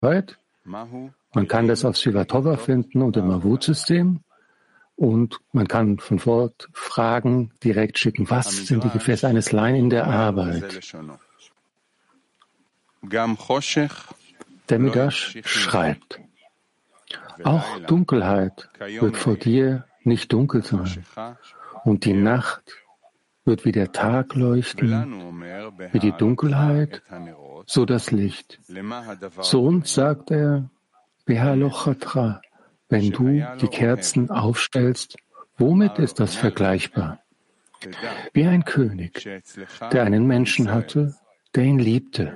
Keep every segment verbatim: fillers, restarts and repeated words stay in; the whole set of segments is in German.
Arbeit. Man kann das auf Sivatova finden und im Avut-System. Und man kann von dort Fragen direkt schicken. Was sind die Gefäße eines Laien in der Arbeit? Der Midrash schreibt, auch Dunkelheit wird vor dir nicht dunkel sein. Und die Nacht wird wie der Tag leuchten, wie die Dunkelheit, so das Licht. Zu uns sagt er, Behalochatra, wenn du die Kerzen aufstellst, womit ist das vergleichbar? Wie ein König, der einen Menschen hatte, der ihn liebte.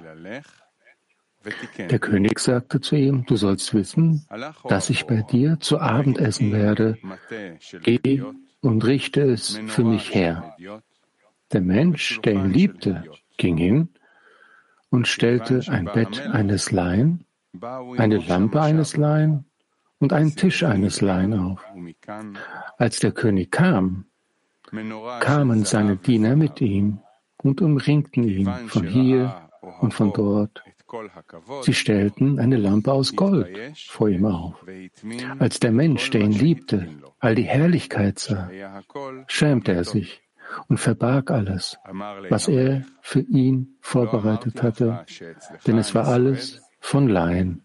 Der König sagte zu ihm, du sollst wissen, dass ich bei dir zu Abend essen werde. Geh und richte es für mich her. Der Mensch, der ihn liebte, ging hin und stellte ein Bett eines Laien, eine Lampe eines Laien und einen Tisch eines Laien auf. Als der König kam, kamen seine Diener mit ihm und umringten ihn von hier und von dort. Sie stellten eine Lampe aus Gold vor ihm auf. Als der Mensch, der ihn liebte, all die Herrlichkeit sah, schämte er sich und verbarg alles, was er für ihn vorbereitet hatte, denn es war alles von Laien.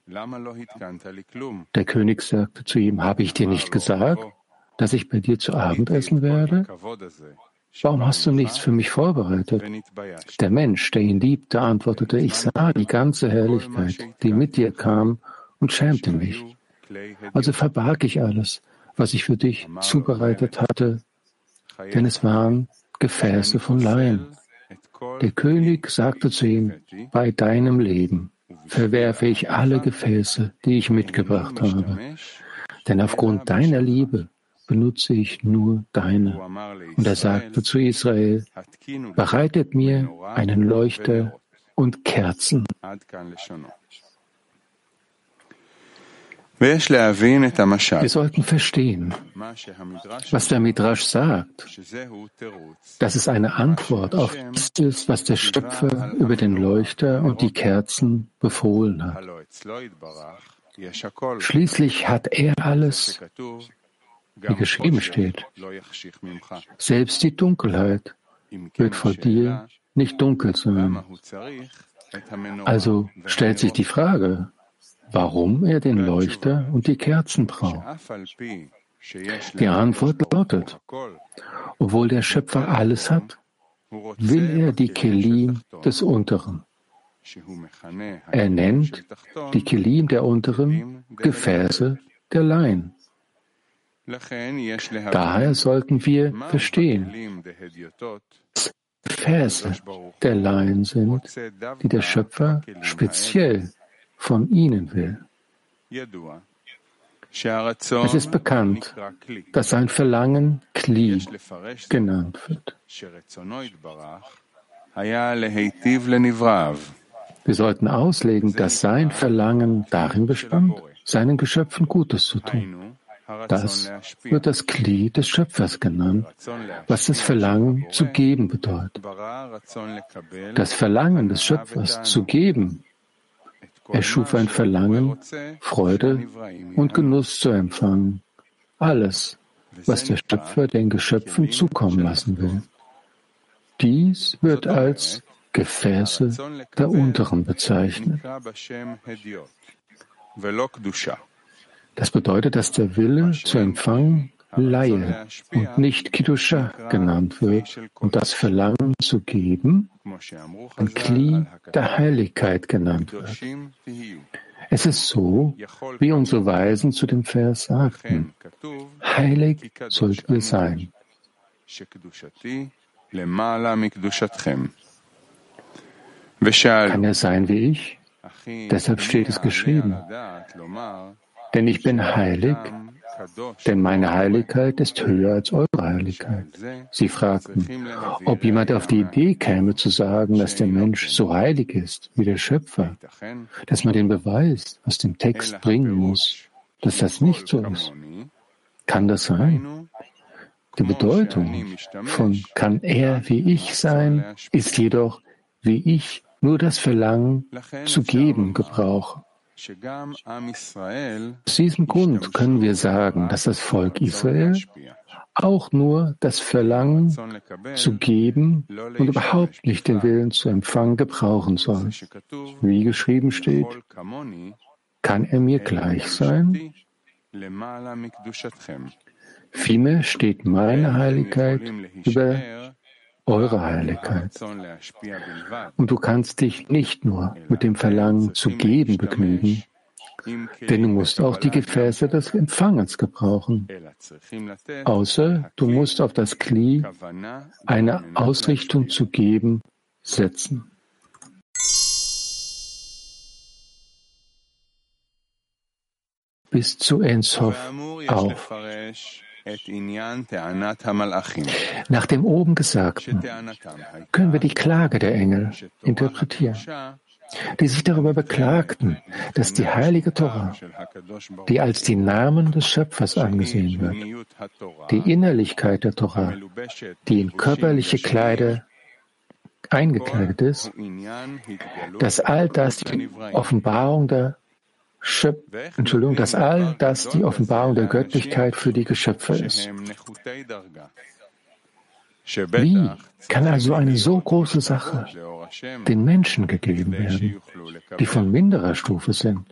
Der König sagte zu ihm, habe ich dir nicht gesagt, dass ich bei dir zu Abend essen werde? Warum hast du nichts für mich vorbereitet? Der Mensch, der ihn liebte, antwortete, ich sah die ganze Herrlichkeit, die mit dir kam, und schämte mich. Also verbarg ich alles, was ich für dich zubereitet hatte, denn es waren Gefäße von Laien. Der König sagte zu ihm, bei deinem Leben verwerfe ich alle Gefäße, die ich mitgebracht habe, denn aufgrund deiner Liebe benutze ich nur deine. Und er sagte zu Israel, bereitet mir einen Leuchter und Kerzen. Wir sollten verstehen, was der Midrash sagt, dass es eine Antwort auf das ist, was der Schöpfer über den Leuchter und die Kerzen befohlen hat. Schließlich hat er alles, wie geschrieben steht. Selbst die Dunkelheit wird vor dir nicht dunkel sein. Also stellt sich die Frage, warum er den Leuchter und die Kerzen braucht. Die Antwort lautet, obwohl der Schöpfer alles hat, will er die Kelim des Unteren. Er nennt die Kelim der Unteren Gefäße der Laien. Daher sollten wir verstehen, dass Gefäße der Laien sind, die der Schöpfer speziell von ihnen will. Es ist bekannt, dass sein Verlangen Kli genannt wird. Wir sollten auslegen, dass sein Verlangen darin bestand, seinen Geschöpfen Gutes zu tun. Das wird das Kli des Schöpfers genannt, was das Verlangen zu geben bedeutet. Das Verlangen des Schöpfers zu geben, er schuf ein Verlangen, Freude und Genuss zu empfangen. Alles, was der Schöpfer den Geschöpfen zukommen lassen will. Dies wird als Gefäße der Unteren bezeichnet. Das bedeutet, dass der Wille zu empfangen Laie und nicht Kiddusha genannt wird und das Verlangen zu geben ein Kli der Heiligkeit genannt wird. Es ist so, wie unsere Weisen zu dem Vers sagten, heilig sollt ihr sein. Kann er sein wie ich? Deshalb steht es geschrieben. Denn ich bin heilig, denn meine Heiligkeit ist höher als eure Heiligkeit. Sie fragten, ob jemand auf die Idee käme zu sagen, dass der Mensch so heilig ist wie der Schöpfer, dass man den Beweis aus dem Text bringen muss, dass das nicht so ist. Kann das sein? Die Bedeutung von kann er wie ich sein, ist jedoch, wie ich nur das Verlangen zu geben gebrauche. Aus diesem Grund können wir sagen, dass das Volk Israel auch nur das Verlangen zu geben und überhaupt nicht den Willen zu empfangen gebrauchen soll. Wie geschrieben steht, kann er mir gleich sein? Vielmehr steht meine Heiligkeit über eure Heiligkeit. Und du kannst dich nicht nur mit dem Verlangen zu geben begnügen, denn du musst auch die Gefäße des Empfangens gebrauchen. Außer du musst auf das Kli eine Ausrichtung zu geben setzen. Bis zu Ein Sof auf. Nach dem oben Gesagten können wir die Klage der Engel interpretieren, die sich darüber beklagten, dass die heilige Tora, die als die Namen des Schöpfers angesehen wird, die Innerlichkeit der Tora, die in körperliche Kleider eingekleidet ist, dass all das die Offenbarung der Schöp- Entschuldigung, dass all das die Offenbarung der Göttlichkeit für die Geschöpfe ist. Wie kann also eine so große Sache den Menschen gegeben werden, die von minderer Stufe sind?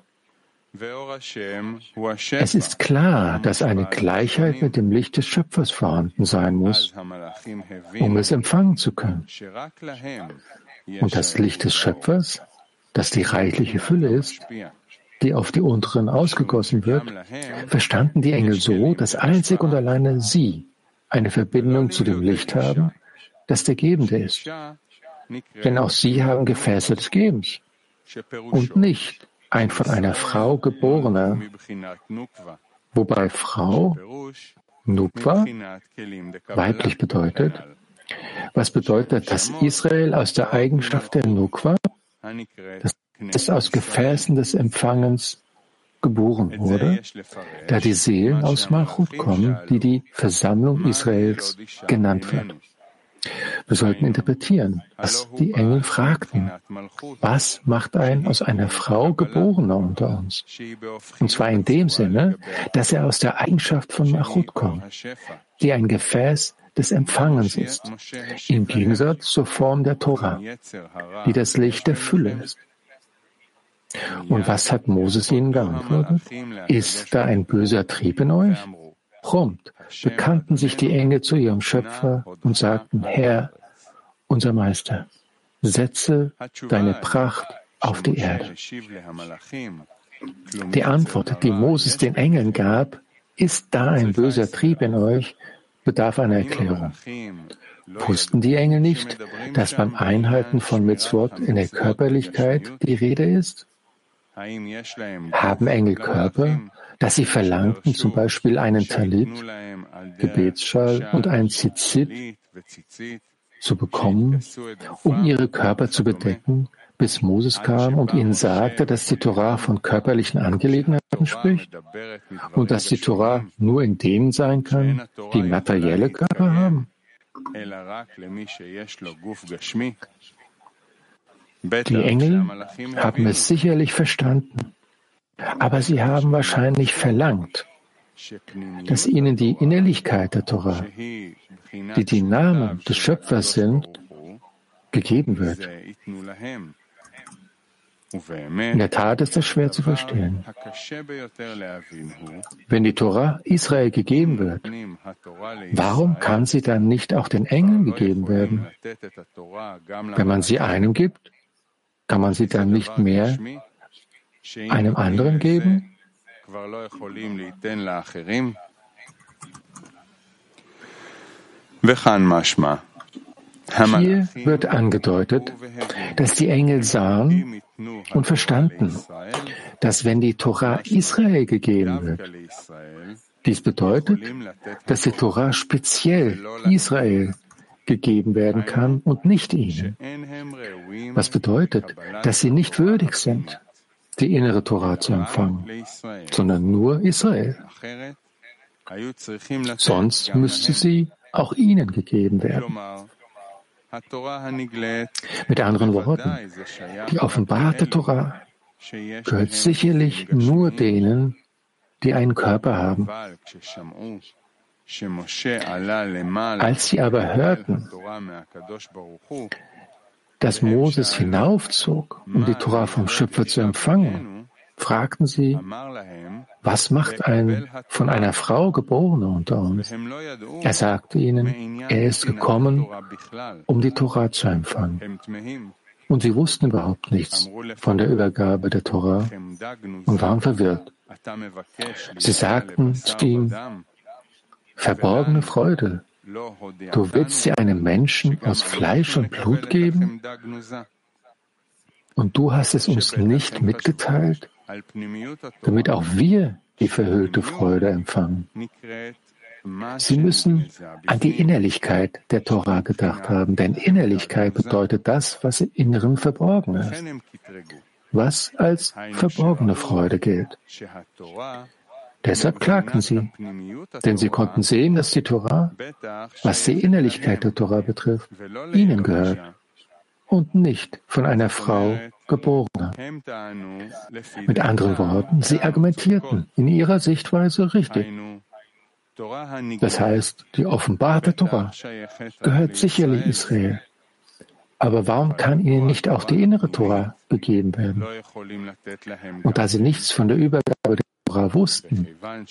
Es ist klar, dass eine Gleichheit mit dem Licht des Schöpfers vorhanden sein muss, um es empfangen zu können. Und das Licht des Schöpfers, das die reichliche Fülle ist, die auf die unteren ausgegossen wird, verstanden die Engel so, dass einzig und alleine sie eine Verbindung zu dem Licht haben, das der Gebende ist. Denn auch sie haben Gefäße des Gebens und nicht ein von einer Frau geborener, wobei Frau, Nukwa, weiblich bedeutet, was bedeutet, dass Israel aus der Eigenschaft der Nukwa, das ist aus Gefäßen des Empfangens geboren wurde, da die Seelen aus Malchut kommen, die die Versammlung Israels genannt wird. Wir sollten interpretieren, was die Engel fragten. Was macht ein aus einer Frau Geborener unter uns? Und zwar in dem Sinne, dass er aus der Eigenschaft von Malchut kommt, die ein Gefäß des Empfangens ist, im Gegensatz zur Form der Tora, die das Licht der Fülle ist. Und was hat Moses ihnen geantwortet? Ist da ein böser Trieb in euch? Prompt bekannten sich die Engel zu ihrem Schöpfer und sagten, Herr, unser Meister, setze deine Pracht auf die Erde. Die Antwort, die Moses den Engeln gab, ist da ein böser Trieb in euch, bedarf einer Erklärung. Wussten die Engel nicht, dass beim Einhalten von Mitzvot in der Körperlichkeit die Rede ist? Haben Engel Körper, dass sie verlangten, zum Beispiel einen Talit, Gebetsschal und ein Tzitzit zu bekommen, um ihre Körper zu bedecken, bis Moses kam und ihnen sagte, dass die Torah von körperlichen Angelegenheiten spricht und dass die Torah nur in denen sein kann, die materielle Körper haben? Die Engel haben es sicherlich verstanden, aber sie haben wahrscheinlich verlangt, dass ihnen die Innerlichkeit der Torah, die die Namen des Schöpfers sind, gegeben wird. In der Tat ist das schwer zu verstehen. Wenn die Torah Israel gegeben wird, warum kann sie dann nicht auch den Engeln gegeben werden? Wenn man sie einem gibt, kann man sie dann nicht mehr einem anderen geben? Hier wird angedeutet, dass die Engel sahen und verstanden, dass wenn die Torah Israel gegeben wird, dies bedeutet, dass die Torah speziell Israel gegeben werden kann und nicht ihnen. Was bedeutet, dass sie nicht würdig sind, die innere Torah zu empfangen, sondern nur Israel. Sonst müsste sie auch ihnen gegeben werden. Mit anderen Worten, die offenbarte Torah, gehört sicherlich nur denen, die einen Körper haben. Als sie aber hörten, dass Moses hinaufzog, um die Tora vom Schöpfer zu empfangen, fragten sie, was macht ein von einer Frau Geborener unter uns? Er sagte ihnen, er ist gekommen, um die Tora zu empfangen. Und sie wussten überhaupt nichts von der Übergabe der Tora und waren verwirrt. Sie sagten zu ihm, verborgene Freude, du willst sie einem Menschen aus Fleisch und Blut geben? Und du hast es uns nicht mitgeteilt, damit auch wir die verhüllte Freude empfangen. Sie müssen an die Innerlichkeit der Tora gedacht haben, denn Innerlichkeit bedeutet das, was im Inneren verborgen ist, was als verborgene Freude gilt. Deshalb klagten sie, denn sie konnten sehen, dass die Tora, was die Innerlichkeit der Tora betrifft, ihnen gehört und nicht von einer Frau geboren. Mit anderen Worten, sie argumentierten in ihrer Sichtweise richtig. Das heißt, die offenbarte Tora gehört sicherlich Israel. Aber warum kann ihnen nicht auch die innere Tora gegeben werden? Und da sie nichts von der Übergabe der Tora wussten,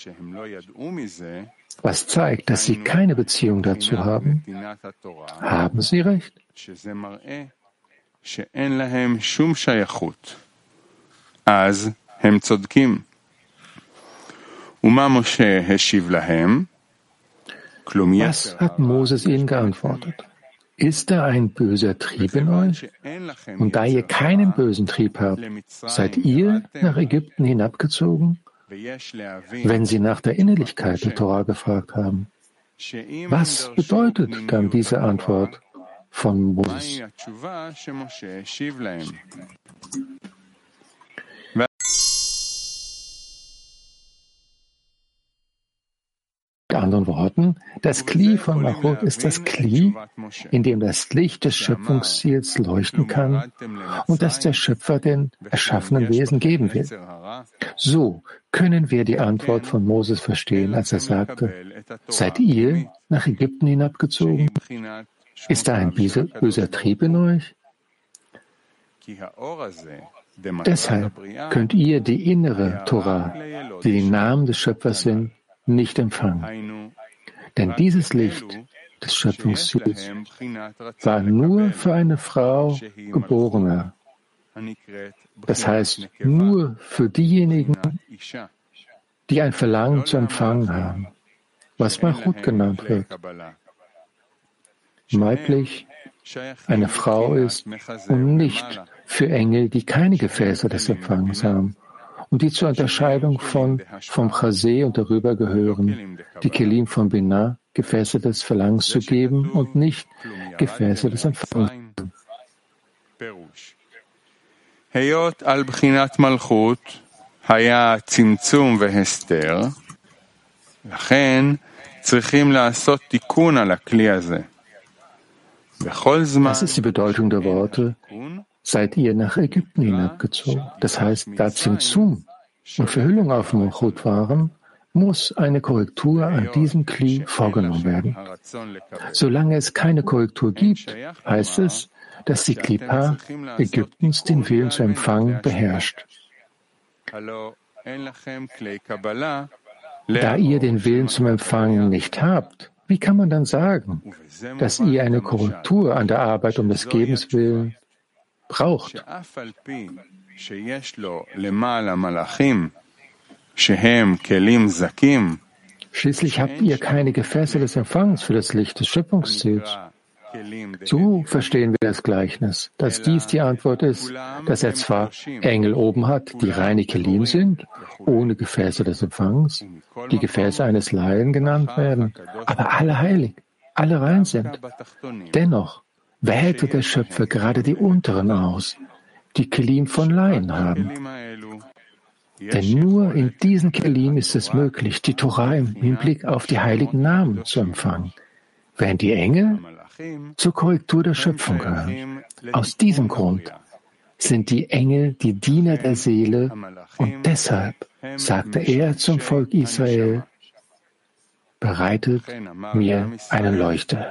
was zeigt, dass sie keine Beziehung dazu haben, haben sie recht. אז הם צודקים. ומה משה השיב להם? Was hat Moses ihnen geantwortet? Ist da ein böser Trieb in euch? Und da ihr keinen bösen Trieb habt, seid ihr nach Ägypten hinabgezogen? Wenn sie nach der Innerlichkeit der Tora gefragt haben. Was bedeutet dann diese Antwort von Moses? Mit anderen Worten, das Kli von Malchut ist das Kli, in dem das Licht des Schöpfungsziels leuchten kann und das der Schöpfer den erschaffenen Wesen geben will. So können wir die Antwort von Moses verstehen, als er sagte, seid ihr nach Ägypten hinabgezogen? Ist da ein böser Trieb in euch? Deshalb könnt ihr die innere Tora, die die Namen des Schöpfers sind, nicht empfangen. Denn dieses Licht des Schöpfungsziels war nur für eine Frau geborener. Das heißt, nur für diejenigen, die ein Verlangen zu empfangen haben, was Malchut genannt wird. Weiblich eine Frau ist und nicht für Engel, die keine Gefäße des Empfangens haben und die zur Unterscheidung von vom Chaseh und darüber gehören, die Kelim von Binah, Gefäße des Verlangens zu geben und nicht Gefäße des Empfangens. היות על בחינת מלכות היה צמצום והסתר, לכן צריכים לעשות תיקון על הכלי הזה. בכל זמן Das ist die Bedeutung der Worte, seid ihr nach Ägypten hinabgezogen. Das heißt, da Zimtzum und Verhüllung auf Malchut waren, muss eine Korrektur an diesem Kli vorgenommen werden. Solange es keine Korrektur gibt, heißt es, dass die Klippa Ägyptens den Willen zu empfangen beherrscht. Da ihr den Willen zum Empfangen nicht habt, wie kann man dann sagen, dass ihr eine Korrektur an der Arbeit um des Gebens willen braucht? Schließlich habt ihr keine Gefäße des Empfangs für das Licht des Schöpfungsziels. So verstehen wir das Gleichnis, dass dies die Antwort ist, dass er zwar Engel oben hat, die reine Kelim sind, ohne Gefäße des Empfangs, die Gefäße eines Laien genannt werden, aber alle heilig, alle rein sind. Dennoch wählte der Schöpfer gerade die unteren aus, die Kelim von Laien haben. Denn nur in diesen Kelim ist es möglich, die Tora im Hinblick auf die heiligen Namen zu empfangen, während die Engel zur Korrektur der Schöpfung gehören. Aus diesem Grund sind die Engel die Diener der Seele und deshalb sagte er zum Volk Israel, bereitet mir eine Leuchte.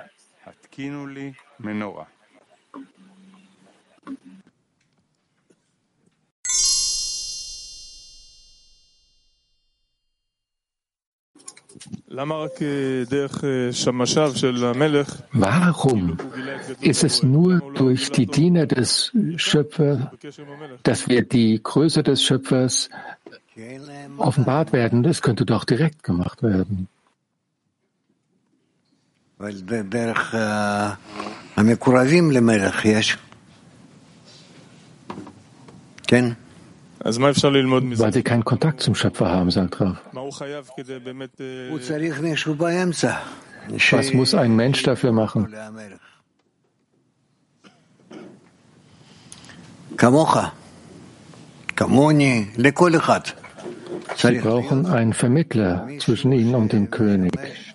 Warum ist es nur durch die Diener des Schöpfers, dass wir die Größe des Schöpfers offenbart werden? Das könnte doch direkt gemacht werden. Weil sie keinen Kontakt zum Schöpfer haben, sagt Rav. Was muss ein Mensch dafür machen? Sie brauchen einen Vermittler zwischen ihnen und dem König.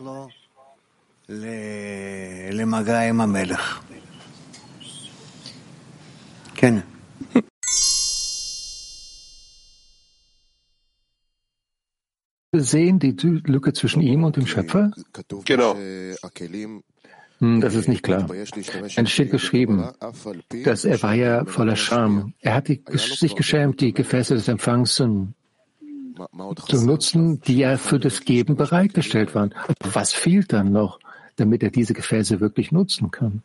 Sehen die Lücke zwischen ihm und dem Schöpfer? Genau. Das ist nicht klar. Es steht geschrieben, dass er war ja voller Scham. Er hat die, sich geschämt, die Gefäße des Empfangs zu, zu nutzen, die ja für das Geben bereitgestellt waren. Aber was fehlt dann noch, damit er diese Gefäße wirklich nutzen kann?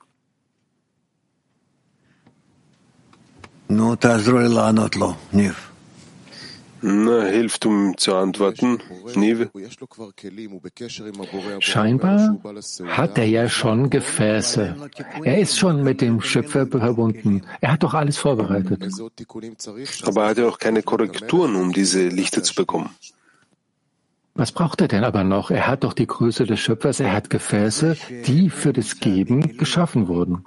Na, hilft, um zu antworten, Nive. Scheinbar hat er ja schon Gefäße. Er ist schon mit dem Schöpfer verbunden. Er hat doch alles vorbereitet. Aber er hat ja auch keine Korrekturen, um diese Lichter zu bekommen. Was braucht er denn aber noch? Er hat doch die Größe des Schöpfers. Er hat Gefäße, die für das Geben geschaffen wurden.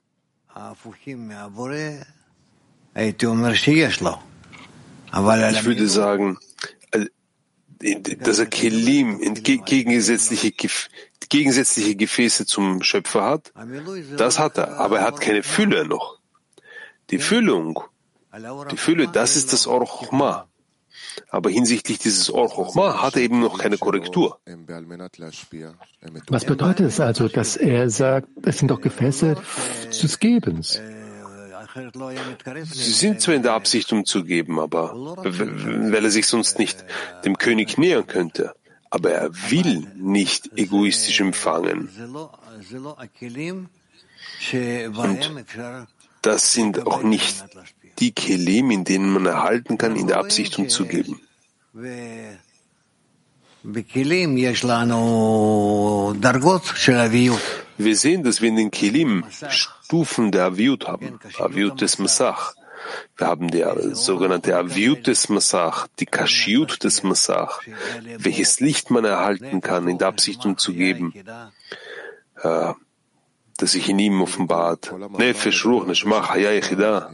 Ich würde sagen, dass er Kelim, gegensätzliche, gegensätzliche Gefäße zum Schöpfer hat, das hat er, aber er hat keine Fülle noch. Die Füllung, die Fülle, das ist das Or Chochma. Aber hinsichtlich dieses Or Chochma hat er eben noch keine Korrektur. Was bedeutet es also, dass er sagt, es sind doch Gefäße des Gebens? Sie sind zwar in der Absicht, um zu geben, aber weil er sich sonst nicht dem König nähern könnte. Aber er will nicht egoistisch empfangen. Und das sind auch nicht die Kelim, in denen man erhalten kann, in der Absicht, um zu geben. Wir sehen, dass wir in den Kelim Stufen der Aviut haben, Aviut des Masach. Wir haben die sogenannte Aviut des Masach, die Kashiut des Masach, welches Licht man erhalten kann, in der Absicht, um zu geben, äh, das sich in ihm offenbart. Nefesh, Ruch, Neshama, Chaya, Yechida.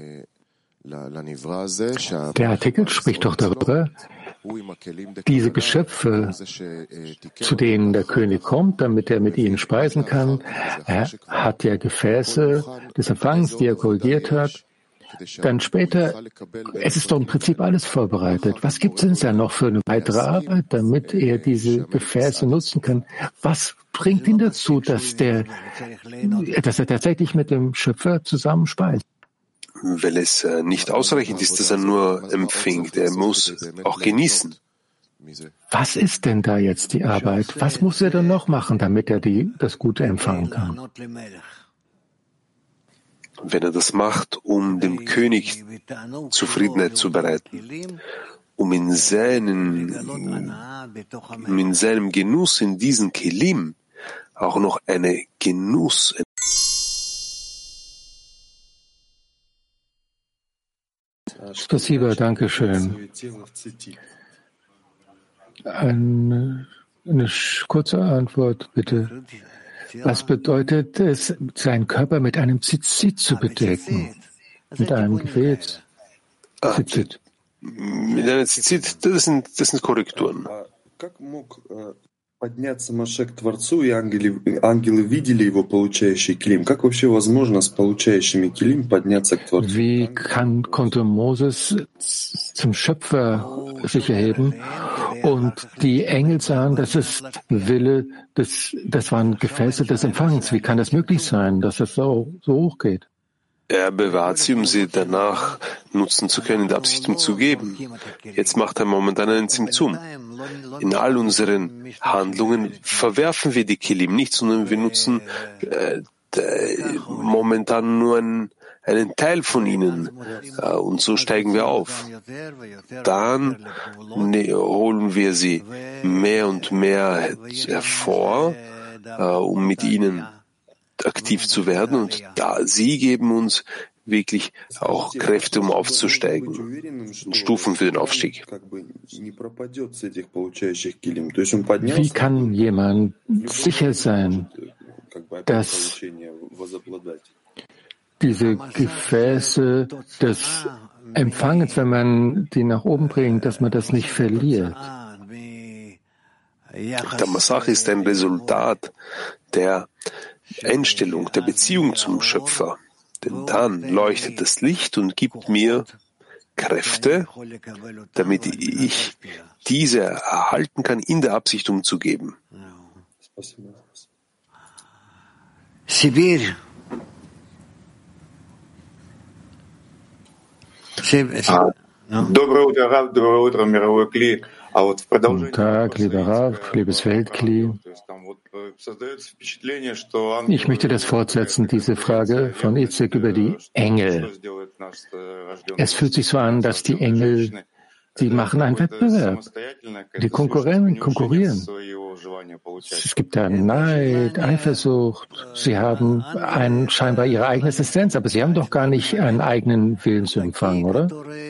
Der Artikel spricht doch darüber, diese Geschöpfe, zu denen der König kommt, damit er mit ihnen speisen kann. Er hat ja Gefäße des Empfangs, die er korrigiert hat. Dann später, es ist doch im Prinzip alles vorbereitet. Was gibt es denn da noch für eine weitere Arbeit, damit er diese Gefäße nutzen kann? Was bringt ihn dazu, dass, der, dass er tatsächlich mit dem Schöpfer zusammen speist? Weil es nicht ausreichend ist, dass er nur empfängt. Er muss auch genießen. Was ist denn da jetzt die Arbeit? Was muss er denn noch machen, damit er die, das Gute empfangen kann? Wenn er das macht, um dem König Zufriedenheit zu bereiten, um in, seinen, um in seinem Genuss in diesen Kelim auch noch eine Genuss Spasiba, danke schön. Eine, eine kurze Antwort, bitte. Was bedeutet es, seinen Körper mit einem Zitzit zu bedecken? Mit einem Gefäß? Zitzit. Mit einem Zitzit, das sind, das sind Korrekturen. подняться Машек к Творцу, и ангелы, ангелы видели его получающий килим. Как вообще возможно с получающими килим подняться к Творцу? Wie kann, konnte Moses zum Schöpfer sich erheben und die Engel sahen, dass es Wille des, das waren Gefäße des Empfangens. Wie kann das möglich sein, dass es so, so hoch geht? Er bewahrt sie, um sie danach nutzen zu können, in der Absicht, um zu geben. Jetzt macht er momentan einen Zimtzum. In all unseren Handlungen verwerfen wir die Kilim nicht, sondern wir nutzen äh, momentan nur einen, einen Teil von ihnen. Äh, und so steigen wir auf. Dann ne, holen wir sie mehr und mehr hervor, äh, um mit ihnen aktiv zu werden, und da sie geben uns wirklich auch Kräfte, um aufzusteigen, und Stufen für den Aufstieg. Wie kann jemand sicher sein, dass diese Gefäße des Empfangens, wenn man die nach oben bringt, dass man das nicht verliert? Der Masach ist ein Resultat der Einstellung, der Beziehung zum Schöpfer. Denn dann leuchtet das Licht und gibt mir Kräfte, damit ich diese erhalten kann, in der Absicht umzugeben. Sibir. Доброе утро, Рав, доброе утро, мировой Кли. Guten Tag, lieber Rav, liebes Weltkli. Ich möchte das fortsetzen, diese Frage von Itzek über die Engel. Es fühlt sich so an, dass die Engel, die machen einen Wettbewerb. Die konkurrieren, konkurrieren. Es gibt da Neid, Eifersucht. Sie haben ein, scheinbar ihre eigene Existenz, aber sie haben doch gar nicht einen eigenen Willen zu empfangen, oder?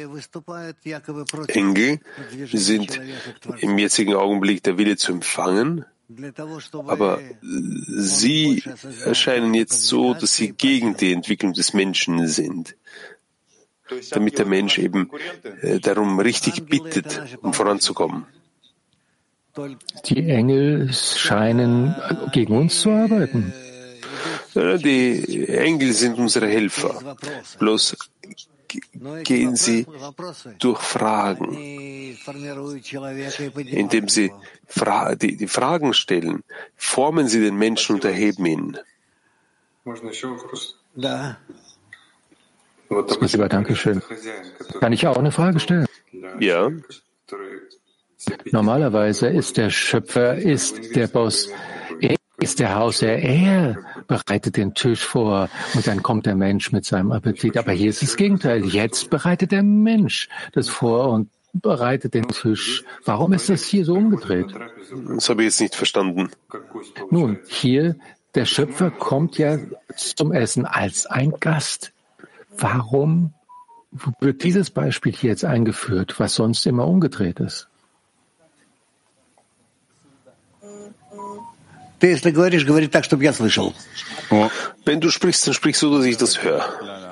Engel sind im jetzigen Augenblick der Wille zu empfangen, aber sie erscheinen jetzt so, dass sie gegen die Entwicklung des Menschen sind, damit der Mensch eben darum richtig bittet, um voranzukommen. Die Engel scheinen gegen uns zu arbeiten. Die Engel sind unsere Helfer. Bloß gehen sie durch Fragen, indem sie Fra- die, die Fragen stellen, formen sie den Menschen und erheben ihn. Lieber, Dankeschön. Kann ich auch eine Frage stellen? Ja. Normalerweise ist der Schöpfer, ist der Boss, er ist der Hausherr, er bereitet den Tisch vor und dann kommt der Mensch mit seinem Appetit. Aber hier ist das Gegenteil. Jetzt bereitet der Mensch das vor und bereitet den Tisch. Warum ist das hier so umgedreht? Das habe ich jetzt nicht verstanden. Nun, hier, der Schöpfer kommt ja zum Essen als ein Gast. Warum wird dieses Beispiel hier jetzt eingeführt, was sonst immer umgedreht ist? Wenn du sprichst, dann sprichst du, dass ich das höre.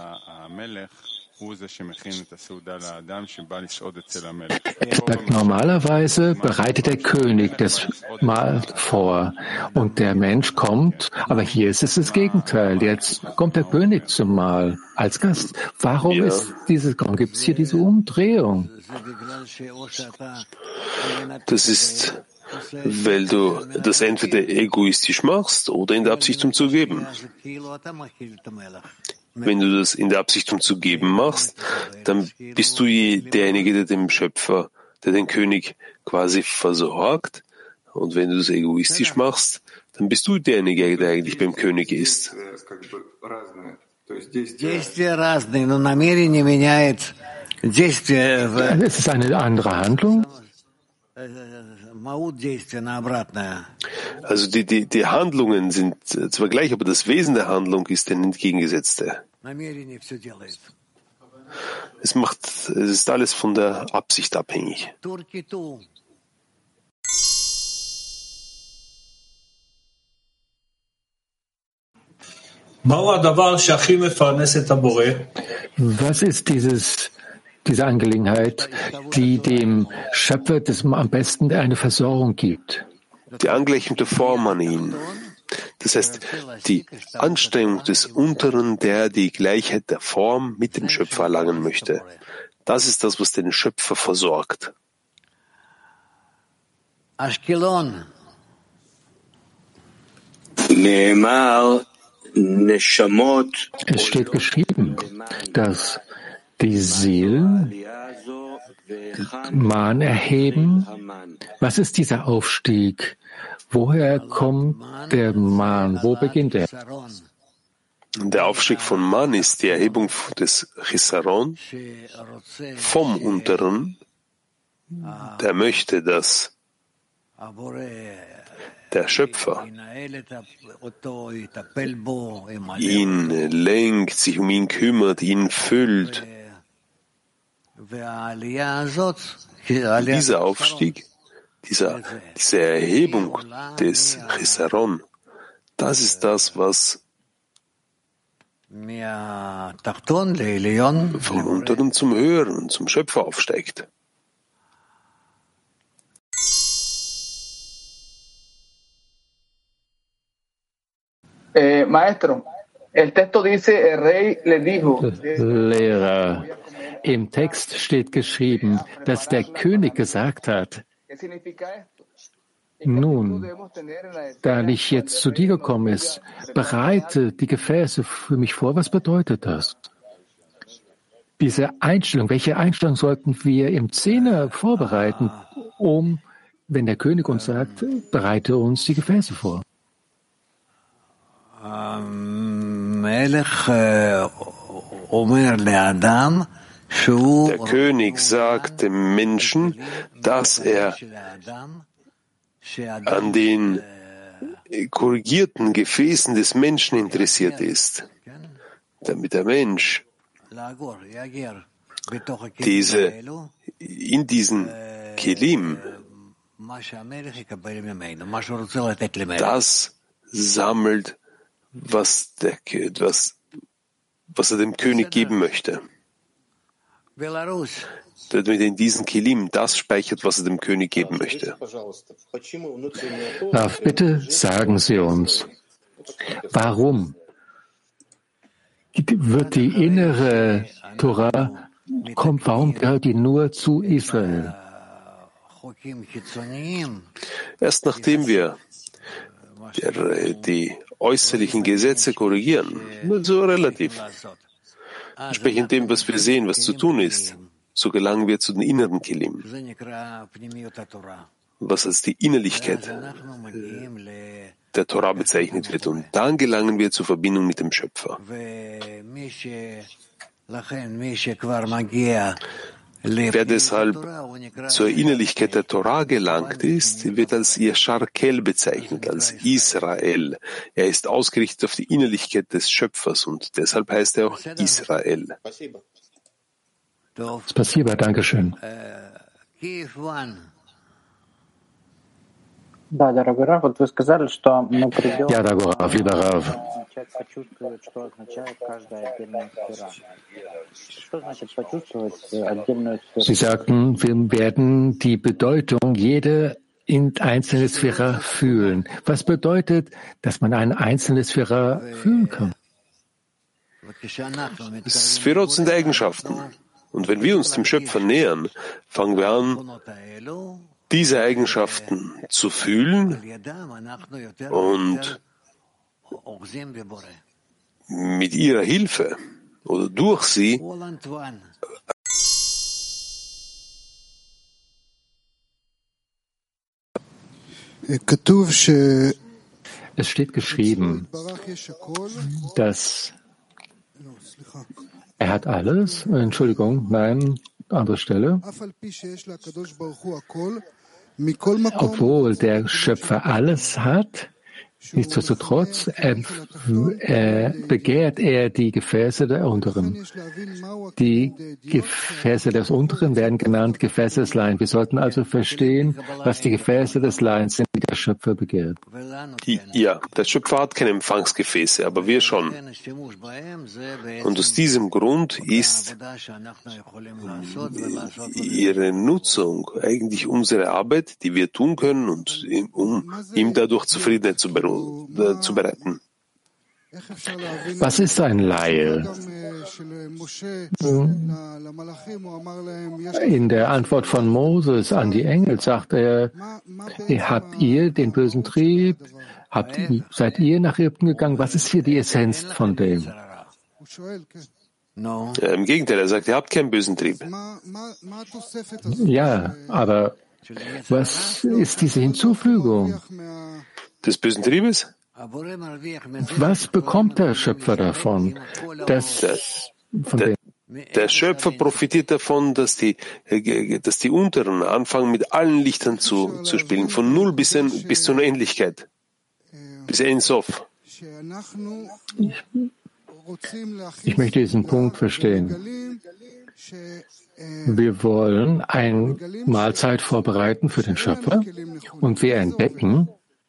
Normalerweise bereitet der König das Mahl vor und der Mensch kommt, aber hier ist es das Gegenteil. Jetzt kommt der König zum Mahl als Gast. Warum ja. ist diese, warum gibt es hier diese Umdrehung? Das ist, weil du das entweder egoistisch machst oder in der Absicht, um zu geben. Wenn du das in der Absicht, um zu geben machst, dann bist du derjenige, der dem Schöpfer, der den König quasi versorgt. Und wenn du das egoistisch machst, dann bist du derjenige, der eigentlich beim König ist. Es ist eine andere Handlung. Also die, die, die Handlungen sind zwar gleich, aber das Wesen der Handlung ist ein entgegengesetzte. Es macht, es ist alles von der Absicht abhängig. Was ist dieses, diese Angelegenheit, die dem Schöpfer des, am besten eine Versorgung gibt? die angleichende Form an ihn. Das heißt, die Anstrengung des Unteren, der die Gleichheit der Form mit dem Schöpfer erlangen möchte. Das ist das, was den Schöpfer versorgt. Ashkelon. Es steht geschrieben, dass die Seelen Mahn erheben. Was ist dieser Aufstieg? Woher kommt der Mahn? Wo beginnt er? Der Aufstieg von Mahn ist die Erhebung des Chisaron vom Unteren, der möchte, dass der Schöpfer ihn lenkt, sich um ihn kümmert, ihn füllt. Dieser Aufstieg, dieser, diese Erhebung des Chisaron, das ist das, was vom Unteren zum Höheren, zum Schöpfer aufsteigt. Eh, maestro, el texto dice, el rey le dijo. Lehrer, im Text steht geschrieben, dass der König gesagt hat, nun, da ich jetzt zu dir gekommen ist, bereite die Gefäße für mich vor. Was bedeutet das? Diese Einstellung, welche Einstellung sollten wir im Zehner vorbereiten, um, wenn der König uns sagt, bereite uns die Gefäße vor? Der König sagt dem Menschen, dass er an den korrigierten Gefäßen des Menschen interessiert ist, damit der Mensch diese, in diesen Kelim das sammelt, was, der, was, was er dem König geben möchte. Damit er in diesen Kelim das speichert, was er dem König geben möchte. Rav, bitte sagen Sie uns, warum wird die innere Torah, kommt, warum gehört die nur zu Israel? Erst nachdem wir der, die äußerlichen Gesetze korrigieren, nur so relativ, entsprechend dem, was wir sehen, was zu tun ist, so gelangen wir zu den inneren Kelim, was als die Innerlichkeit der Torah bezeichnet wird. Und dann gelangen wir zur Verbindung mit dem Schöpfer. Wer deshalb zur Innerlichkeit der Torah gelangt ist, wird als Yashar Kel bezeichnet, als Israel. Er ist ausgerichtet auf die Innerlichkeit des Schöpfers und deshalb heißt er auch Israel. Spasiba, Dankeschön. Да, дорогой Рав, вот вы сказали, что мы придем... Ja, darauf, lieber Rav. Человек почувствует, что означает каждая отдельная сфера. Что значит почувствовать отдельную сферу? Sie sagten, wir werden die Bedeutung jeder einzelne Sphäre fühlen. Was bedeutet, dass man eine einzelne Sphäre fühlen kann? Sphärot sind Eigenschaften. Und wenn wir uns dem Schöpfer nähern, fangen wir an, diese Eigenschaften zu fühlen und mit ihrer Hilfe oder durch sie Es steht geschrieben, dass er hat alles, Entschuldigung, nein, andere Stelle. Obwohl der Schöpfer alles hat, nichtsdestotrotz er, äh, begehrt er die Gefäße der Unteren. Die Gefäße des Unteren werden genannt Gefäße des Leins. Wir sollten also verstehen, was die Gefäße des Leins sind, die der Schöpfer begehrt. Ja, der Schöpfer hat keine Empfangsgefäße, aber wir schon. Und aus diesem Grund ist ihre Nutzung eigentlich unsere Arbeit, die wir tun können, und um ihm dadurch Zufriedenheit zu bereiten. Was ist ein Laie? In der Antwort von Moses an die Engel sagt er, habt ihr den bösen Trieb? Habt, seid ihr nach Ägypten gegangen? Was ist hier die Essenz von dem? Ja, im Gegenteil, er sagt, ihr habt keinen bösen Trieb. Ja, aber was ist diese Hinzufügung des bösen Triebes? Was bekommt der Schöpfer davon? Dass, von der, der Schöpfer profitiert davon, dass die, dass die Unteren anfangen, mit allen Lichtern zu, zu spielen, von Null bis, in, bis zur Unendlichkeit, bis Ein Sof. Ich, ich möchte diesen Punkt verstehen. Wir wollen eine Mahlzeit vorbereiten für den Schöpfer und wir entdecken,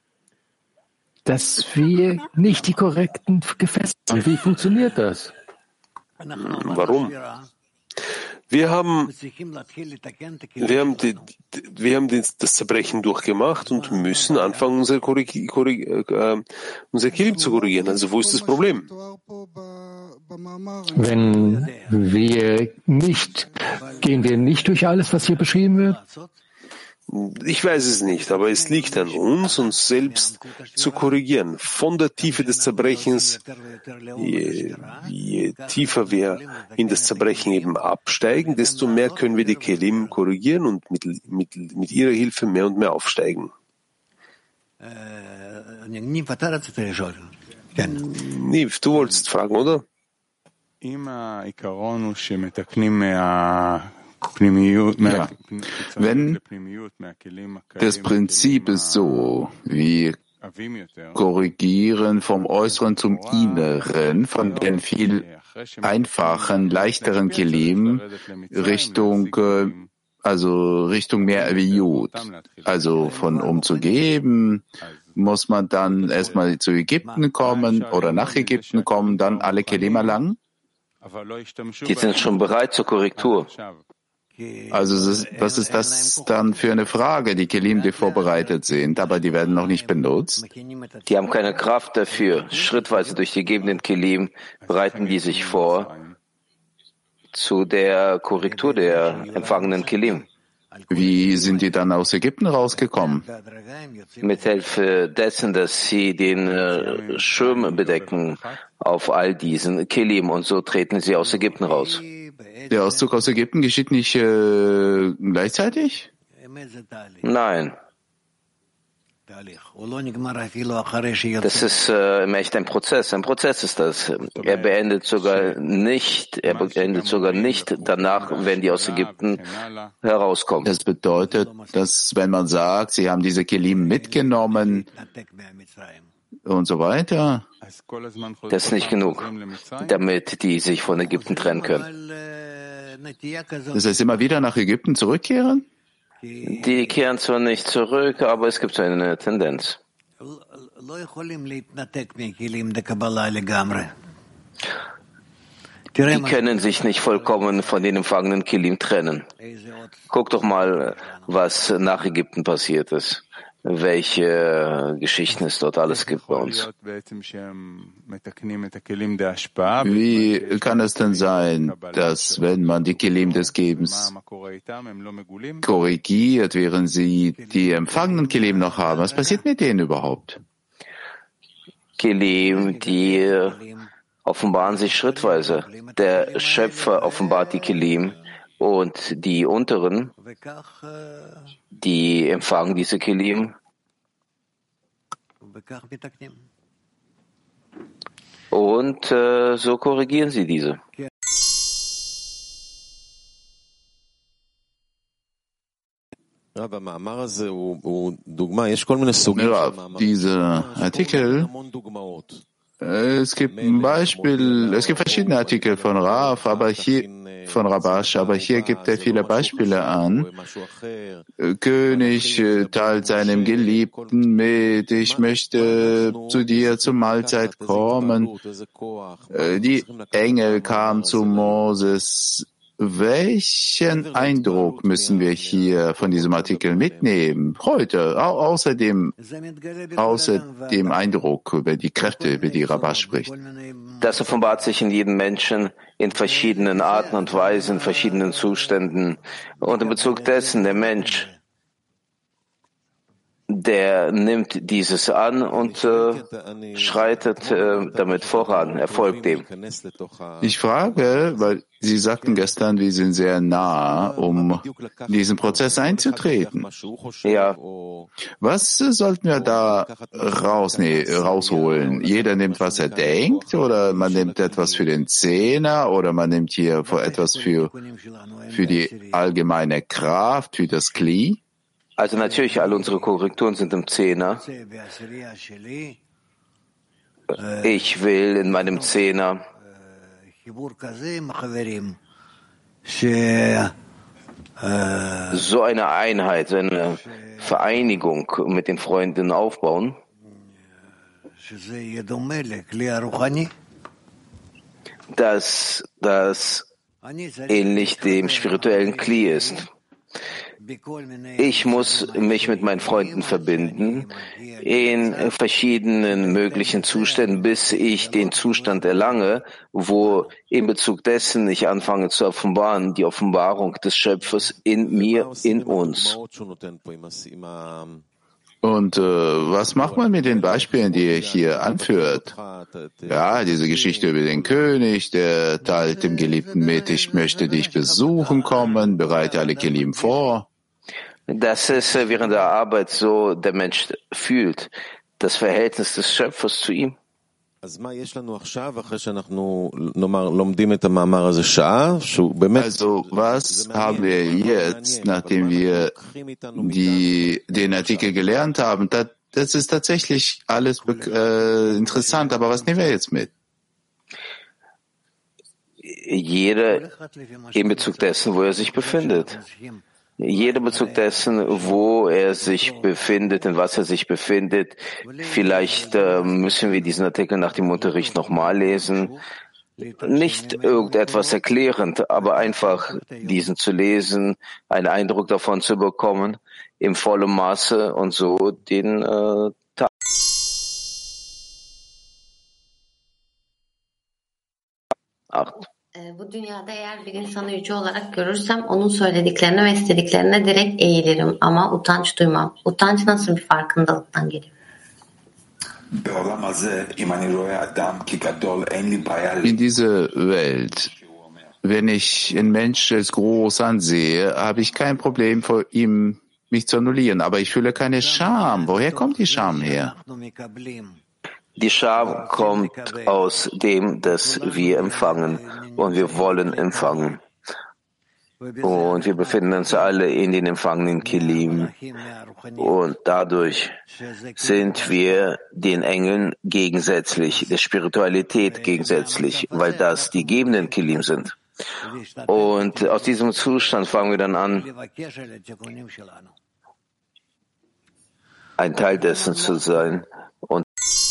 dass wir nicht die korrekten Gefäße haben. Wie funktioniert das? Warum? Wir haben, wir haben, die, wir haben das Zerbrechen durchgemacht und müssen anfangen, unser, Korrig, Korrig, äh, unser Kilim zu korrigieren. Also wo ist das Problem? Wenn wir nicht, gehen wir nicht durch alles, was hier beschrieben wird? Ich weiß es nicht, aber es liegt an uns, uns selbst zu korrigieren. Von der Tiefe des Zerbrechens, je, je tiefer wir in das Zerbrechen eben absteigen, desto mehr können wir die Kelim korrigieren und mit, mit, mit ihrer Hilfe mehr und mehr aufsteigen. Niv, du wolltest fragen, oder? Ja. Wenn das Prinzip ist so, wir korrigieren vom Äußeren zum Inneren, von den viel einfachen, leichteren Kelim Richtung, also Richtung mehr Aviut. Also von um zu geben, muss man dann erstmal zu Ägypten kommen oder nach Ägypten kommen, dann alle Kelim erlangen? Die sind schon bereit zur Korrektur. Also was ist das dann für eine Frage? Die Kelim, die vorbereitet sind, aber die werden noch nicht benutzt? Die haben keine Kraft dafür. Schrittweise durch die gegebenen Kelim bereiten die sich vor zu der Korrektur der empfangenen Kelim. Wie sind die dann aus Ägypten rausgekommen? Mit Hilfe dessen, dass sie den äh, Schirm bedecken auf all diesen Kelim, und so treten sie aus Ägypten raus. Der Auszug aus Ägypten geschieht nicht äh, gleichzeitig? Nein. Das ist äh, im Echt ein Prozess. Ein Prozess ist das. Er beendet sogar nicht, er beendet sogar nicht danach, wenn die aus Ägypten herauskommen. Das bedeutet, dass wenn man sagt, sie haben diese Kelim mitgenommen und so weiter, das ist nicht genug, damit die sich von Ägypten trennen können. Das heißt, immer wieder nach Ägypten zurückkehren? Die kehren zwar nicht zurück, aber es gibt so eine Tendenz. Die können sich nicht vollkommen von den empfangenen Kelim trennen. Guck doch mal, was nach Ägypten passiert ist. Welche Geschichten es dort alles gibt bei uns. Wie kann es denn sein, dass wenn man die Kelim des Gebens korrigiert, während sie die empfangenen Kelim noch haben, was passiert mit denen überhaupt? Kelim, die offenbaren sich schrittweise. Der Schöpfer offenbart die Kelim und die unteren, die empfangen diese Kelim und äh, so korrigieren sie diese. Ja, dieser Artikel Es gibt ein Beispiel, es gibt verschiedene Artikel von Rav, aber hier, von Rabash, aber hier gibt er viele Beispiele an. König teilt seinem Geliebten mit, ich möchte zu dir zur Mahlzeit kommen. Die Engel kamen zu Moses. Welchen Eindruck müssen wir hier von diesem Artikel mitnehmen? Heute, au außer dem, außer dem Eindruck über die Kräfte, über die Rabash spricht. Das offenbart sich in jedem Menschen in verschiedenen Arten und Weisen, in verschiedenen Zuständen. Und in Bezug dessen, der Mensch, der nimmt dieses an und äh, schreitet äh, damit voran, er folgt dem. Ich frage, weil Sie sagten gestern, wir sind sehr nah, um in diesen Prozess einzutreten. Ja. Was sollten wir da raus, nee, rausholen? Jeder nimmt, was er denkt, oder man nimmt etwas für den Zehner, oder man nimmt hier etwas für, für die allgemeine Kraft, für das Kli? Also natürlich, alle unsere Korrekturen sind im Zehner. Ich will in meinem Zehner so eine Einheit, so eine Vereinigung mit den Freunden aufbauen, dass das ähnlich dem spirituellen Kli ist. Ich muss mich mit meinen Freunden verbinden in verschiedenen möglichen Zuständen, bis ich den Zustand erlange, wo in Bezug dessen ich anfange zu offenbaren, die Offenbarung des Schöpfers in mir, in uns. Und äh, was macht man mit den Beispielen, die er hier anführt? Ja, diese Geschichte über den König, der teilt dem Geliebten mit, ich möchte dich besuchen kommen, bereite alle Kelim vor. Das ist während der Arbeit so, der Mensch fühlt, das Verhältnis des Schöpfers zu ihm. Also, was haben wir jetzt, nachdem wir die, den Artikel gelernt haben? Das, das ist tatsächlich alles äh, interessant, aber was nehmen wir jetzt mit? Jeder in Bezug dessen, wo er sich befindet. Jeder Bezug dessen, wo er sich befindet, in was er sich befindet. Vielleicht äh, müssen wir diesen Artikel nach dem Unterricht nochmal lesen. Nicht irgendetwas erklärend, aber einfach diesen zu lesen, einen Eindruck davon zu bekommen, im vollen Maße und so den äh, Tag. Acht. Bu dünyada eğer bir insanı yüce olarak görürsem onun söylediklerine ve istediklerine direkt eğilirim ama utanç duymam. Utanç nasıl bir farkındalıktan geliyor? In dieser Welt, wenn ich einen Mensch als groß ansehe, habe ich kein Problem vor ihm, mich zu annullieren. Aber ich fühle keine Scham. Woher kommt die Scham her? Die Scham kommt aus dem, dass wir empfangen und wir wollen empfangen. Und wir befinden uns alle in den empfangenen Kelim. Und dadurch sind wir den Engeln gegensätzlich, der Spiritualität gegensätzlich, weil das die gebenden Kelim sind. Und aus diesem Zustand fangen wir dann an, ein Teil dessen zu sein. Und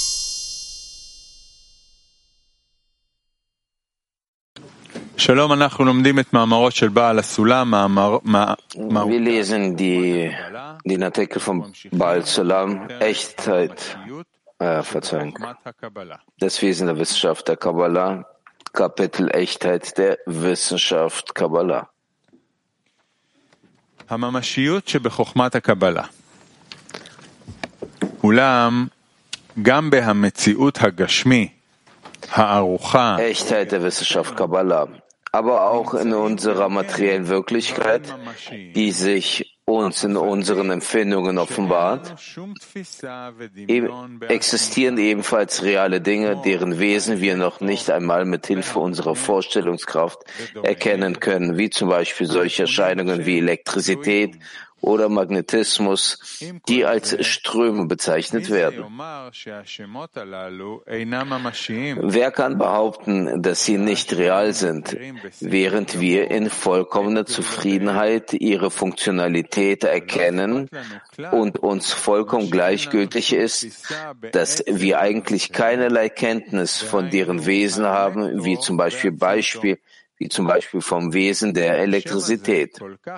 Wir lesen die, den Artikel von Baal Sulam, Echtheit, äh, Verzeihung, das Wesen der Wissenschaft der Kabbalah, Kapitel Echtheit der Wissenschaft Kabbalah. הממשיות שבחוכמת הקבלה. אולם גם בהמציאות הגשמי, הערוכה, Echtheit der Wissenschaft Kabbalah, aber auch in unserer materiellen Wirklichkeit, die sich uns in unseren Empfindungen offenbart, existieren ebenfalls reale Dinge, deren Wesen wir noch nicht einmal mit Hilfe unserer Vorstellungskraft erkennen können, wie zum Beispiel solche Erscheinungen wie Elektrizität oder Magnetismus, die als Ströme bezeichnet werden. Wer kann behaupten, dass sie nicht real sind, während wir in vollkommener Zufriedenheit ihre Funktionalität erkennen und uns vollkommen gleichgültig ist, dass wir eigentlich keinerlei Kenntnis von deren Wesen haben, wie zum Beispiel Beispiel wie zum Beispiel vom Wesen der Elektrizität.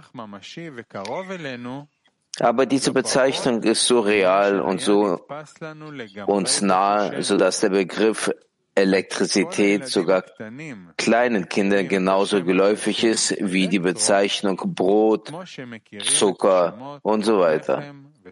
Aber diese Bezeichnung ist so real und so uns nahe, sodass der Begriff Elektrizität sogar kleinen Kindern genauso geläufig ist wie die Bezeichnung Brot, Zucker und so weiter.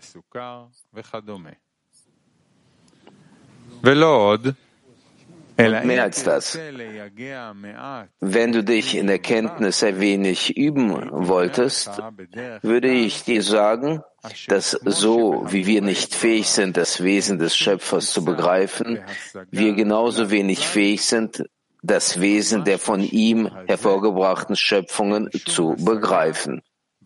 Und mehr als das. Wenn du dich in der Kenntnis ein wenig üben wolltest, würde ich dir sagen, dass so wie wir nicht fähig sind, das Wesen des Schöpfers zu begreifen, wir genauso wenig fähig sind, das Wesen der von ihm hervorgebrachten Schöpfungen zu begreifen.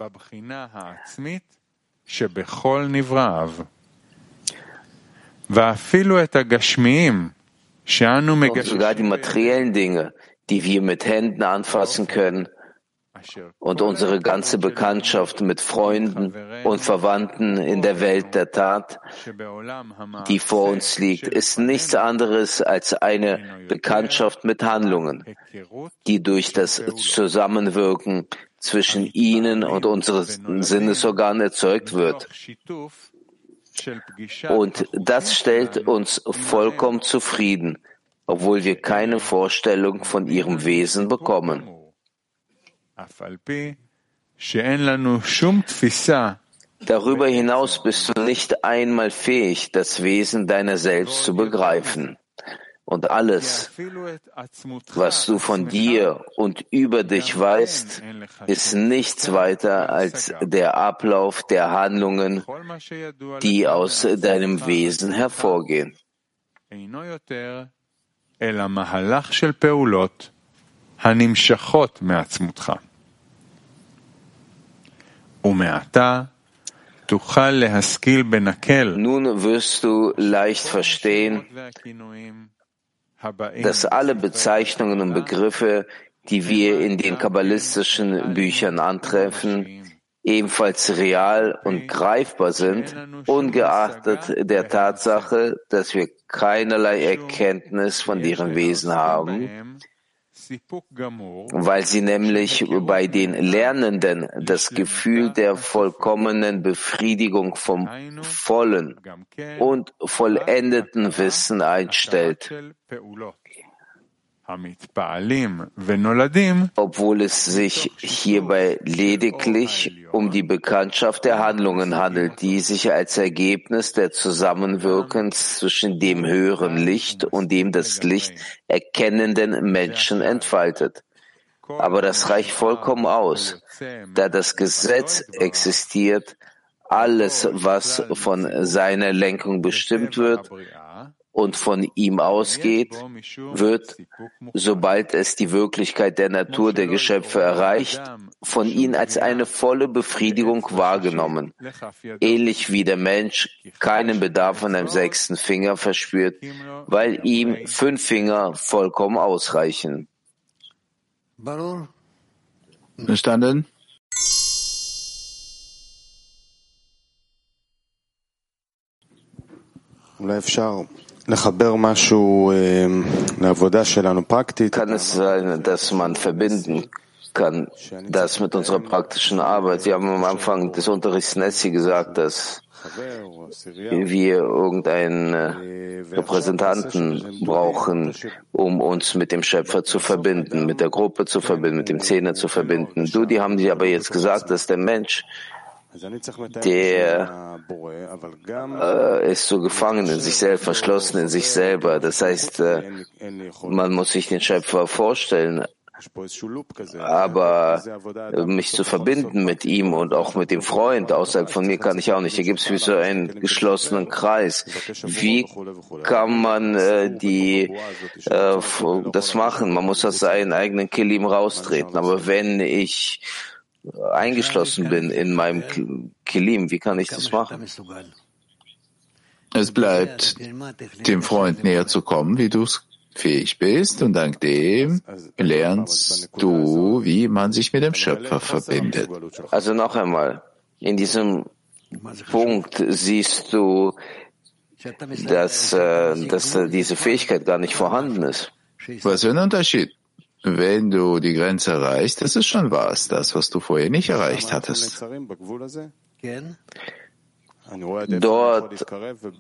Und sogar die materiellen Dinge, die wir mit Händen anfassen können, und unsere ganze Bekanntschaft mit Freunden und Verwandten in der Welt der Tat, die vor uns liegt, ist nichts anderes als eine Bekanntschaft mit Handlungen, die durch das Zusammenwirken zwischen ihnen und unseren Sinnesorganen erzeugt wird. Und das stellt uns vollkommen zufrieden, obwohl wir keine Vorstellung von ihrem Wesen bekommen. Darüber hinaus bist du nicht einmal fähig, das Wesen deiner selbst zu begreifen. Und alles, was du von dir und über dich weißt, ist nichts weiter als der Ablauf der Handlungen, die aus deinem Wesen hervorgehen. Nun wirst du leicht verstehen, dass alle Bezeichnungen und Begriffe, die wir in den kabbalistischen Büchern antreffen, ebenfalls real und greifbar sind, ungeachtet der Tatsache, dass wir keinerlei Erkenntnis von deren Wesen haben, weil sie nämlich bei den Lernenden das Gefühl der vollkommenen Befriedigung vom vollen und vollendeten Wissen einstellt, obwohl es sich hierbei lediglich um die Bekanntschaft der Handlungen handelt, die sich als Ergebnis der Zusammenwirkens zwischen dem höheren Licht und dem das Licht erkennenden Menschen entfaltet. Aber das reicht vollkommen aus, da das Gesetz existiert, alles, was von seiner Lenkung bestimmt wird, und von ihm ausgeht, wird, sobald es die Wirklichkeit der Natur der Geschöpfe erreicht, von ihnen als eine volle Befriedigung wahrgenommen, ähnlich wie der Mensch keinen Bedarf an einem sechsten Finger verspürt, weil ihm fünf Finger vollkommen ausreichen. Verstanden? Kann es sein, dass man verbinden kann, das mit unserer praktischen Arbeit? Wir haben am Anfang des Unterrichts Nessi gesagt, dass wir irgendeinen Repräsentanten brauchen, um uns mit dem Schöpfer zu verbinden, mit der Gruppe zu verbinden, mit dem Zehner zu verbinden. Du, die haben dir aber jetzt gesagt, dass der Mensch, der äh, ist so gefangen in sich selbst, verschlossen in sich selber. Das heißt, äh, man muss sich den Schöpfer vorstellen, aber äh, mich zu verbinden mit ihm und auch mit dem Freund außerhalb von mir kann ich auch nicht. Hier gibt es wie so einen geschlossenen Kreis. Wie kann man äh, die äh, das machen? Man muss aus seinen eigenen Kelim raustreten. Aber wenn ich eingeschlossen bin in meinem Kelim. Wie kann ich das machen? Es bleibt, dem Freund näher zu kommen, wie du es fähig bist, und dank dem lernst du, wie man sich mit dem Schöpfer verbindet. Also noch einmal, in diesem Punkt siehst du, dass, äh, dass äh, diese Fähigkeit gar nicht vorhanden ist. Was für ein Unterschied? Wenn du die Grenze erreichst, das ist schon was, das, was du vorher nicht erreicht hattest. Dort äh,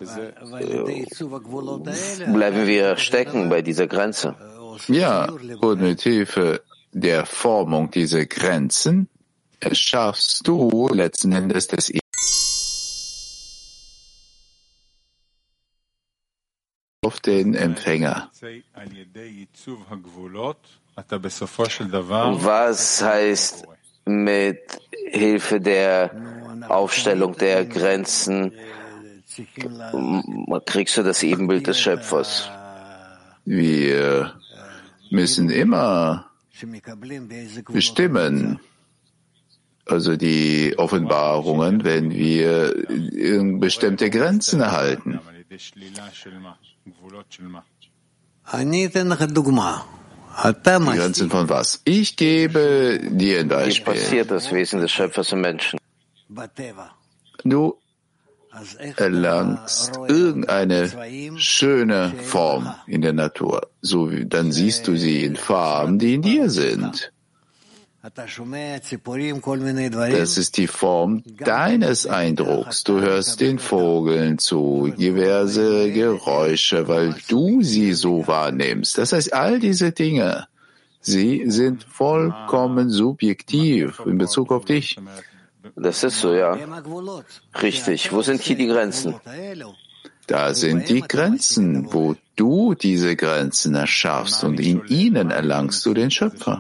bleiben wir stecken bei dieser Grenze. Ja, und mit Hilfe der Formung dieser Grenzen erschaffst du letzten Endes das auf den Empfänger. Was heißt mit Hilfe der Aufstellung der Grenzen kriegst du das Ebenbild des Schöpfers? Wir müssen immer bestimmen, also die Offenbarungen, wenn wir bestimmte Grenzen erhalten. Die Grenzen von was? Ich gebe dir ein Beispiel. Wie passiert das Wesen des Schöpfers im Menschen? Du erlangst irgendeine schöne Form in der Natur. So, dann siehst du sie in Farben, die in dir sind. Das ist die Form deines Eindrucks. Du hörst den Vogeln zu, diverse Geräusche, weil du sie so wahrnimmst. Das heißt, all diese Dinge, sie sind vollkommen subjektiv in Bezug auf dich. Das ist so, ja. Richtig. Wo sind hier die Grenzen? Da sind die Grenzen, wo du diese Grenzen erschaffst, und in ihnen erlangst du den Schöpfer.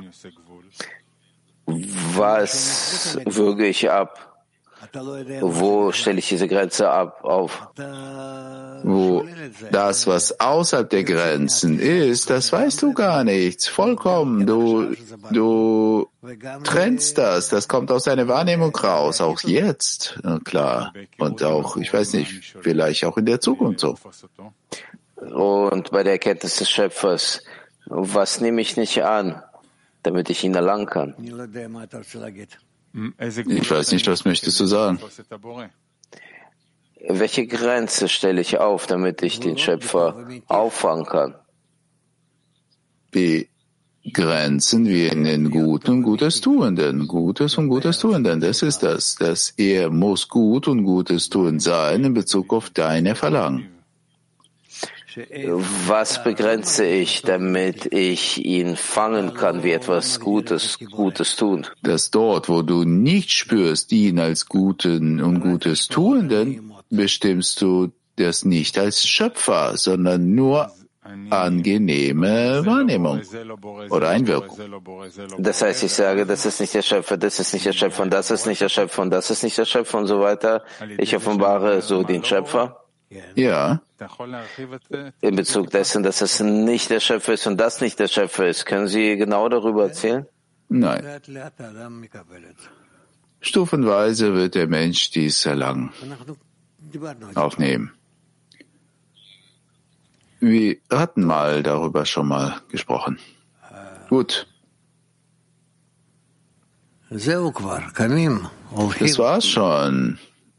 Was würge ich ab? Wo stelle ich diese Grenze ab auf? Wo das, was außerhalb der Grenzen ist, das weißt du gar nicht. Vollkommen. Du, du trennst das. Das kommt aus deiner Wahrnehmung raus. Auch jetzt. Klar. Und auch, ich weiß nicht, vielleicht auch in der Zukunft so. Und bei der Erkenntnis des Schöpfers, was nehme ich nicht an, damit ich ihn erlangen kann? Ich weiß nicht, was möchtest du sagen? Welche Grenze stelle ich auf, damit ich den Schöpfer auffangen kann? Die Grenzen wie in den Guten und Gutes Tuenden. Gutes und Gutes Tuenden, das ist das. Das er muss gut und Gutes tun sein in Bezug auf deine Verlangen. Was begrenze ich, damit ich ihn fangen kann, wie etwas Gutes, Gutes tun? Dass dort, wo du nicht spürst, ihn als Guten und Gutes Tuenden, bestimmst du das nicht als Schöpfer, sondern nur angenehme Wahrnehmung oder Einwirkung. Das heißt, ich sage, das ist nicht der Schöpfer, das ist nicht der Schöpfer, und das ist nicht der Schöpfer, und das ist nicht der Schöpfer und so weiter. Ich offenbare so den Schöpfer. Ja. In Bezug dessen, dass es nicht der Schöpfer ist und das nicht der Schöpfer ist. Können Sie genau darüber erzählen? Nein. Stufenweise wird der Mensch dies erlangen, aufnehmen. Wir hatten mal darüber schon mal gesprochen. Gut. Das war's schon.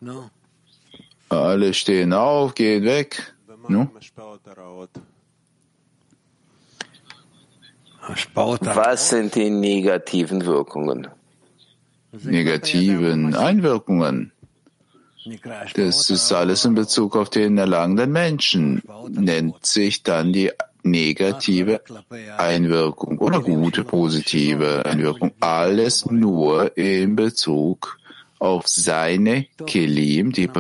Alle stehen auf, gehen weg. No? Was sind die negativen Wirkungen? Negativen Einwirkungen. Das ist alles in Bezug auf den erlangenden Menschen. Nennt sich dann die negative Einwirkung oder gute, positive Einwirkung. Alles nur in Bezug auf seine Kelim, die